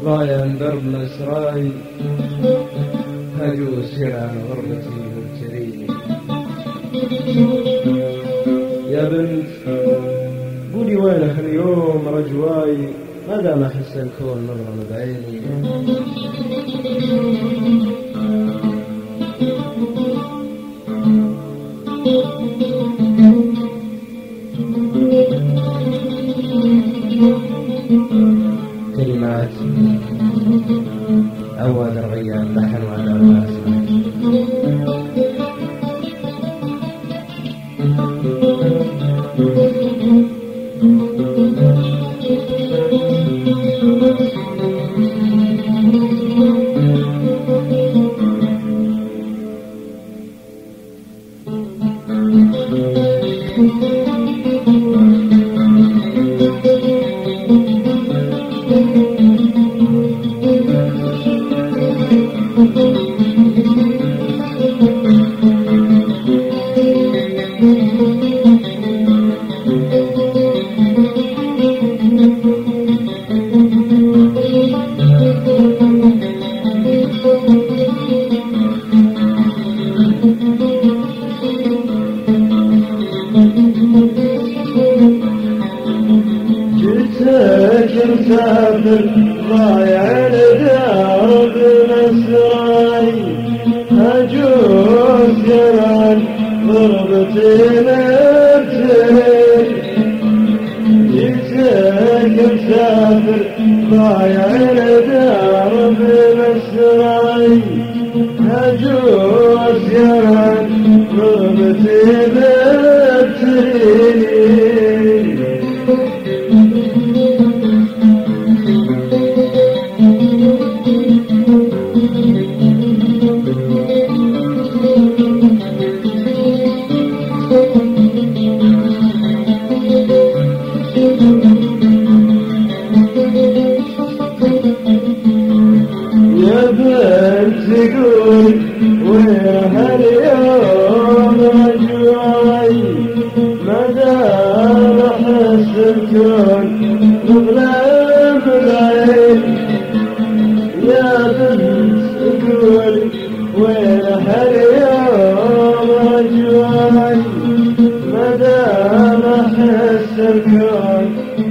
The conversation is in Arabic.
ضايع درب الأسراي هجو سير عن غربتي مبتليني. يا بنت قولي وينك اليوم رجواي ما دام أحس الكون نظرة بعيني. كلمات عواد الغيان لحن وعلى الأسماء. جئتك مسافر ضايع لدرب الأسراي هجوز جران ضربتي مبتلي. جئتك مسافر ضايع لدرب الأسراي هجوز جران ضربتي مبتلي. يا بنت قول وين هاليوم رجواي ما دام احس الكون مظلم العين. يا بنت قول وين هاليوم رجواي ما دام احس الكون